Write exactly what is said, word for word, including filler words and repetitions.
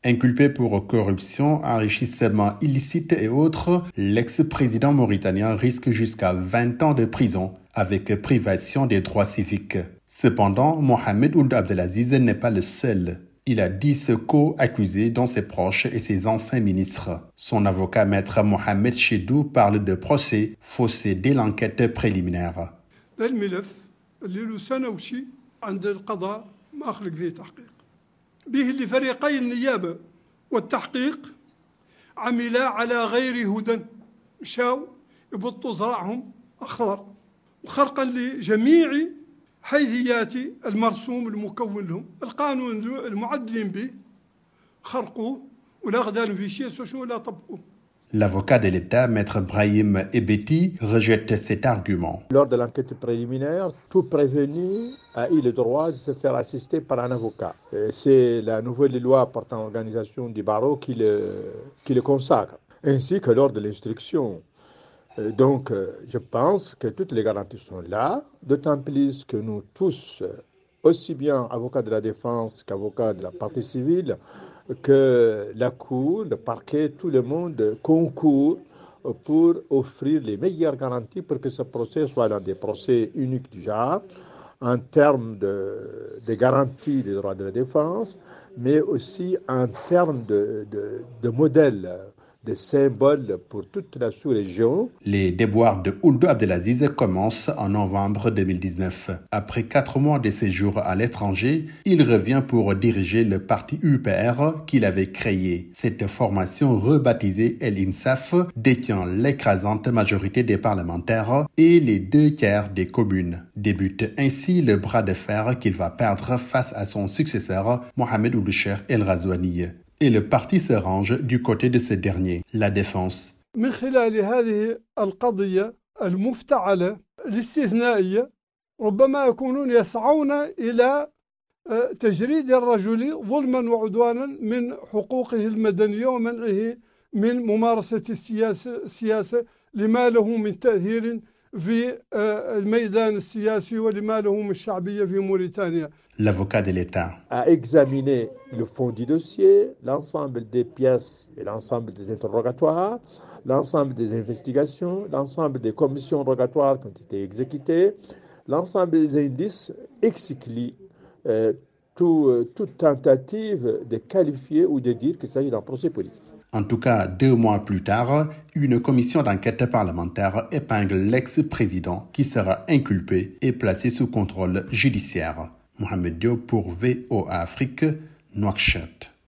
Inculpé pour corruption, enrichissement illicite et autres, l'ex-président mauritanien risque jusqu'à vingt ans de prison avec privation des droits civiques. Cependant, Mohamed Ould Abdelaziz n'est pas le seul. Il a dix co-accusés, dont ses proches et ses anciens ministres. Son avocat, maître Mohamed Chedou, parle de procès faussé dès l'enquête préliminaire. الملف اللي له سنة وشي عند القضاء ما خلق فيه تحقيق به اللي فريقي النيابة والتحقيق عملا على غير هدى مشاو يبطوا زرعهم أخضر وخرقا لجميع حيثيات المرسوم المكون لهم القانون المعدلين به خرقوه ولا غدالهم في شيء سوشو ولا طبقوه. L'avocat de l'État, maître Brahim Ebeti, rejette cet argument. Lors de l'enquête préliminaire, tout prévenu a eu le droit de se faire assister par un avocat. C'est la nouvelle loi portant organisation du barreau qui le, qui le consacre, ainsi que lors de l'instruction. Donc, je pense que toutes les garanties sont là, d'autant plus que nous tous, aussi bien avocats de la défense qu'avocats de la partie civile, que la Cour, le parquet, tout le monde concourt pour offrir les meilleures garanties pour que ce procès soit l'un des procès uniques du genre, en termes de, de garantie des droits de la défense, mais aussi en termes de, de, de modèle, de symboles pour toute la sous-région. Les déboires de Ould Abdelaziz commencent en novembre deux mille dix-neuf. Après quatre mois de séjour à l'étranger, il revient pour diriger le parti U P R qu'il avait créé. Cette formation rebaptisée El Insaf détient l'écrasante majorité des parlementaires et les deux tiers des communes. Débute ainsi le bras de fer qu'il va perdre face à son successeur, Mohamed Ould Cheikh El Ghazouani. Et le parti se range du côté de ce dernier, la défense. من خلال هذه القضية المفتعلة الاستثنائية ربما يكونون يسعون إلى تجريد الرجل ظلما وعدوانا من حقوقه المدنية ومنعه من ممارسة السياسة, السياسة لما له من تأثير في الميدان السياسي ولما له من شعبية في موريتانيا. L'avocat de l'État a examiné le fond du dossier, l'ensemble des pièces et l'ensemble des interrogatoires, l'ensemble des investigations, l'ensemble des commissions rogatoires qui ont été exécutées, l'ensemble des indices exclut euh, tout, euh, toute tentative de qualifier ou de dire qu'il s'agit d'un procès politique. En tout cas, deux mois plus tard, une commission d'enquête parlementaire épingle l'ex-président qui sera inculpé et placé sous contrôle judiciaire. Mohamed Diop pour V O A Afrique, Nouakchott.